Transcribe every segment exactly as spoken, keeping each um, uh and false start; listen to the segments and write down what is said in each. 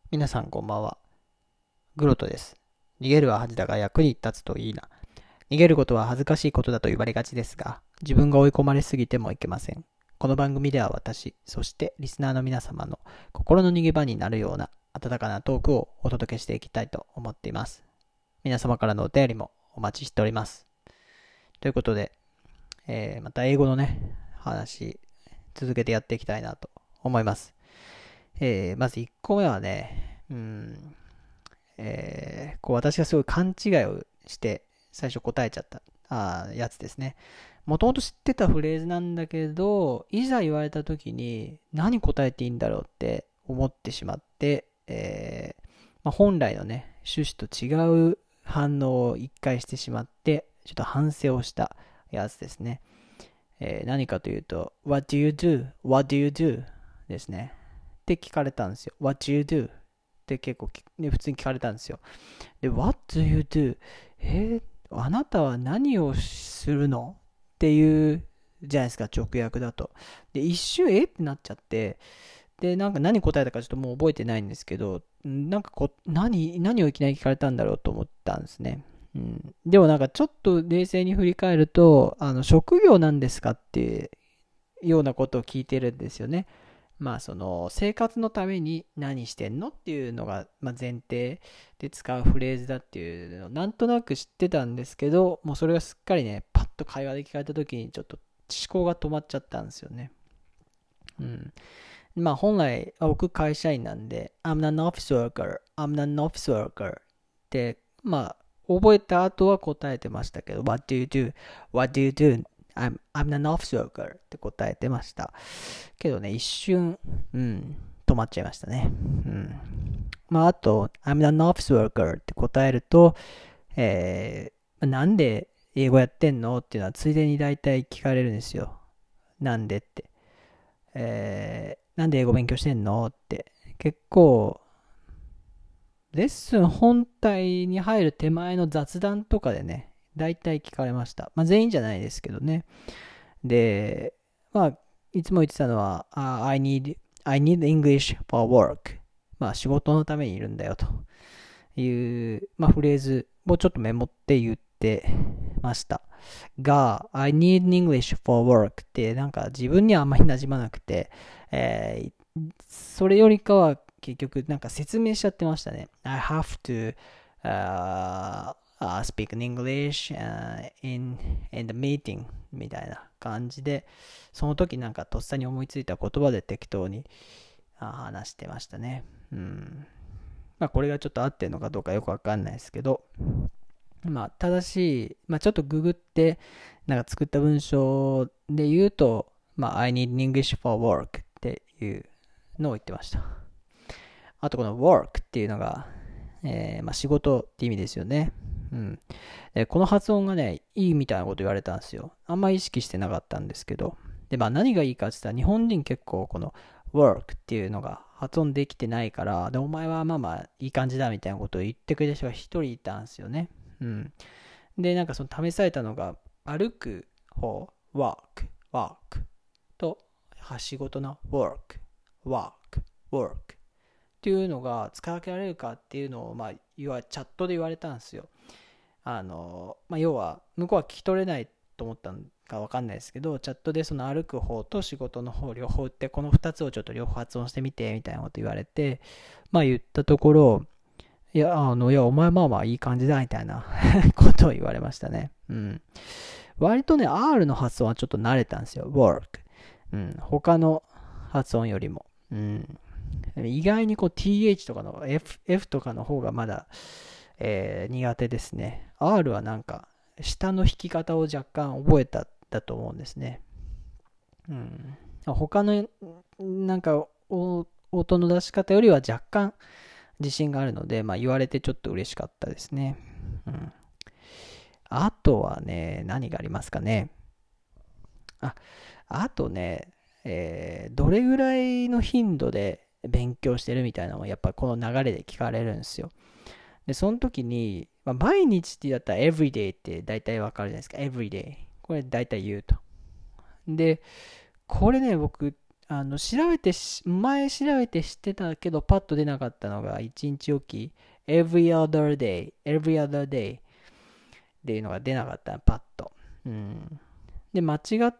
皆さんこんばんは。グロトです。逃げるは恥だが役に立つといいな。逃げることは恥ずかしいことだと言われがちですが、自分が追い込まれすぎてもいけません。この番組では私、そしてリスナーの皆様の心の逃げ場になるような温かなトークをお届けしていきたいと思っています。皆様からのお便りもお待ちしております。ということで、えーまた英語のね、話、続けてやっていきたいなと思います。えーまずいっこめはね、うーん、えーこう私がすごい勘違いをして最初答えちゃったあーやつですね。もともと知ってたフレーズなんだけど、いざ言われた時に何答えていいんだろうって思ってしまって、えーまあ、本来のね、趣旨と違う反応を一回してしまって、ちょっと反省をしたやつですね。えー何かというと、What do you do?What do you do? ですね。って聞かれたんですよ。What do you do? って結構、ね、普通に聞かれたんですよ。で、What do you do? えーあなたは何をするのっていうじゃないですか、直訳だと。で、一瞬、えってなっちゃって、で、なんか何答えたかちょっともう覚えてないんですけど、なんかこ、何、何をいきなり聞かれたんだろうと思ったんですね。うん、でもなんかちょっと冷静に振り返ると、あの、職業なんですかっていうようなことを聞いてるんですよね。まあその生活のために何してんのっていうのが、まあ、前提で使うフレーズだっていうのをなんとなく知ってたんですけど、もうそれがすっかりね、パッと会話で聞かれた時にちょっと思考が止まっちゃったんですよね。うん。まあ本来、僕会社員なんで、I'm an office worker, I'm an office worker って、まあ覚えた後は答えてましたけど、What do you do? What do you do? I'm, I'm an office worker って答えてました。けどね、一瞬、うん、止まっちゃいましたね。うん。まああと、I'm an office worker って答えると、えー、なんで英語やってんのっていうのはついでに大体聞かれるんですよ。なんでって。えー、なんで英語勉強してんのって。結構、レッスン本体に入る手前の雑談とかでね、大体聞かれました。まあ全員じゃないですけどね。で、まあ、いつも言ってたのは、uh, I need, I need English for work. まあ仕事のためにいるんだよという、まあフレーズをちょっとメモって言ってました。が、I need English for work ってなんか自分にはあんまり馴染まなくて、えーそれよりかは結局なんか説明しちゃってましたね。I have to、uh, uh, speak in English、uh, in, in the meeting みたいな感じで、その時なんかとっさに思いついた言葉で適当に話してましたね。うん。まあこれがちょっと合ってるのかどうかよくわかんないですけど、まあ正しい、まあちょっとググって、なんか作った文章で言うと、まあ I need English for work っていうのを言ってました。あとこの work っていうのが、えーまあ、仕事って意味ですよね。うん。で、この発音がね、いいみたいなこと言われたんですよ。あんまり意識してなかったんですけど。で、まあ何がいいかって言ったら、日本人結構この work っていうのが発音できてないから、で、お前はまあまあいい感じだみたいなことを言ってくれた人が一人いたんですよね。うん。で、なんかその試されたのが、歩く方、walk, walk と、仕事の work, work, work っていうのが使い分けられるかっていうのを、まあ、要はチャットで言われたんですよ。あの、まあ、要は、向こうは聞き取れないと思ったのかわかんないですけど、チャットでその歩く方と仕事の方両方って、このふたつをちょっと両方発音してみて、みたいなこと言われて、まあ言ったところ、いや、あの、いや、お前まあまあいい感じだ、みたいなことを言われましたね。うん。割とね、R の発音はちょっと慣れたんですよ。work。うん。他の発音よりも。うん。意外にこう ティーエイチ とかの F, F とかの方がまだ、えー苦手ですね。R はなんか、下の弾き方を若干覚えただと思うんですね。うん。他の、なんか、音の出し方よりは若干自信があるので、まあ言われてちょっと嬉しかったですね。うん。あとはね、何がありますかね。あ、あとね、えーどれぐらいの頻度で勉強してるみたいなのもやっぱこの流れで聞かれるんですよ。で、その時に、まあ、毎日ってだったら everyday って大体わかるじゃないですか。everyday。これ大体言うと。で、これね、僕、 あの、調べてし、前調べて知ってたけど、パッと出なかったのが、いちにちおき、every other day, every other day っていうのが出なかった、パッと。うん。で、間違って、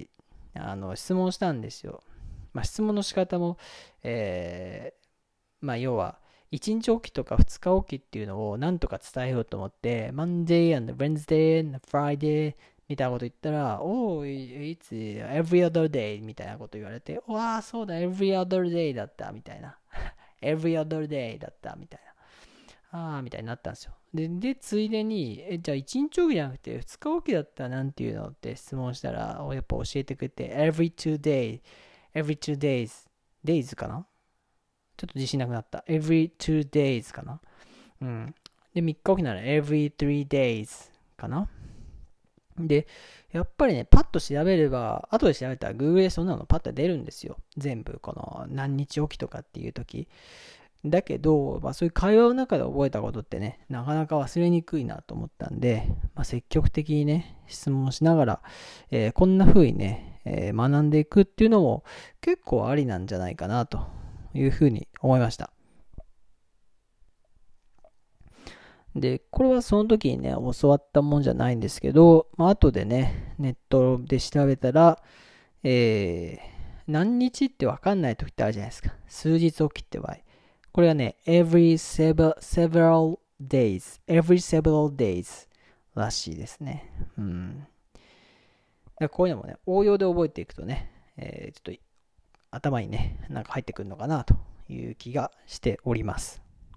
あの、質問したんですよ。まあ、質問の仕方も、えー、まあ、要は、いちにちおきとかふつかおきっていうのをなんとか伝えようと思って、Monday and Wednesday and Friday みたいなこと言ったら、Oh, it's every other day みたいなこと言われて、わあ、そうだ、every other day だったみたいな。every other day だったみたいな。ああ、みたいになったんですよ。で、でついでに、え、じゃあいちにちおきじゃなくてふつかおきだったらなんていうのって質問したら、やっぱ教えてくれて、every two days, every two days, days かなちょっと自信なくなった。every two days かなうん。で、みっかおきなら every three days かなで、やっぱりね、パッと調べれば、後で調べたら Google でそんなのパッと出るんですよ。全部、この何日おきとかっていう時。だけど、まあそういう会話の中で覚えたことってね、なかなか忘れにくいなと思ったんで、まあ積極的にね、質問しながら、えー、こんな風にね、えー、学んでいくっていうのも結構ありなんじゃないかなという風に思いました。で、これはその時にね、教わったもんじゃないんですけど、まあ後でね、ネットで調べたら、えー、何日ってわかんない時ってあるじゃないですか。数日おきって場合。これはね、every several, several days, every several days らしいですね。うん。だこういうのもね、応用で覚えていくとね、えー、ちょっと頭にね、なんか入ってくるのかなという気がしております。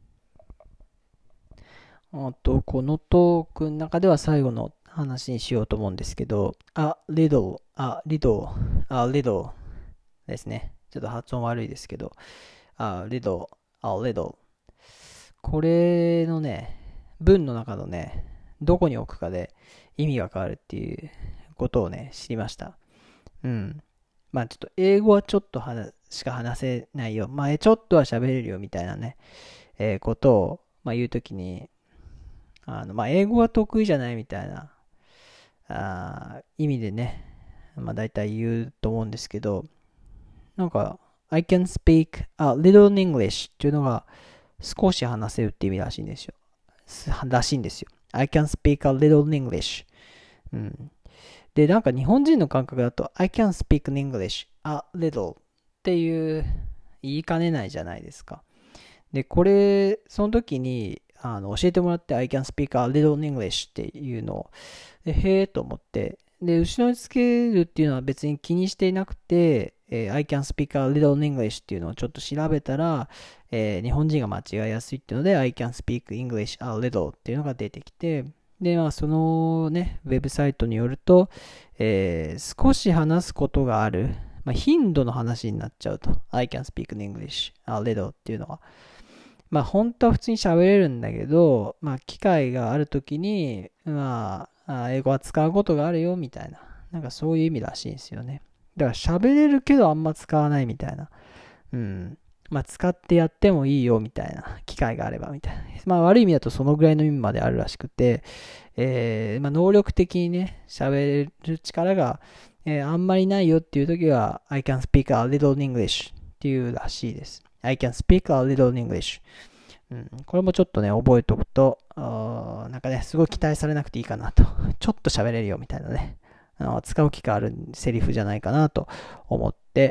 あと、このトークの中では最後の話にしようと思うんですけど、a little, a little, a little ですね。ちょっと発音悪いですけど、a little, a little これのね、文の中のね、どこに置くかで意味が変わるっていうことをね、知りました。うん。まあちょっと英語はちょっとしか話せないよ。まあちょっとは喋れるよみたいなね、えー、ことを、まあ、言うときに、あの、まあ英語は得意じゃないみたいな、あ意味でね、まあ大体言うと思うんですけど、なんか、I can speak a little English っていうのが少し話せるって意味らしいんですよ。らしいんですよ。I can speak a little English。うん。で、なんか日本人の感覚だと I can speak English a little っていう言いかねないじゃないですか。で、これ、その時にあの教えてもらって I can speak a little English っていうのを、でへーと思って、で、後ろにつけるっていうのは別に気にしていなくて、えー、I can speak a little English っていうのをちょっと調べたら、えー、日本人が間違いやすいっていうので I can speak English a little っていうのが出てきて、で、まあ、そのね、ウェブサイトによると、えー、少し話すことがある、まあ、頻度の話になっちゃうと。I can speak English a little っていうのは。まあ、本当は普通に喋れるんだけど、まあ、機会があるときに、まあ、英語は使うことがあるよ、みたいな。なんかそういう意味らしいんですよね。だから喋れるけどあんま使わないみたいな。うん。まあ、使ってやってもいいよみたいな機会があればみたいな。まあ、悪い意味だとそのぐらいの意味まであるらしくて、えー、まあ、能力的にね、喋れる力が、えー、あんまりないよっていう時は、I can speak a little English っていうらしいです。I can speak a little English。うん、これもちょっとね、覚えておくと、なんかね、すごい期待されなくていいかなと。ちょっと喋れるよみたいなね、あの使う機会あるセリフじゃないかなと思って、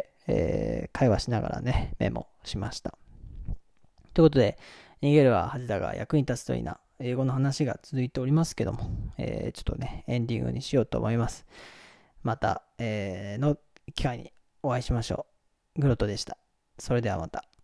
えー、会話しながらね、メモしました。ということで、逃げるは恥だが役に立つといいな。英語の話が続いておりますけども、えー、ちょっとね、エンディングにしようと思います。また、えー、の機会にお会いしましょう。グロトでした。それではまた。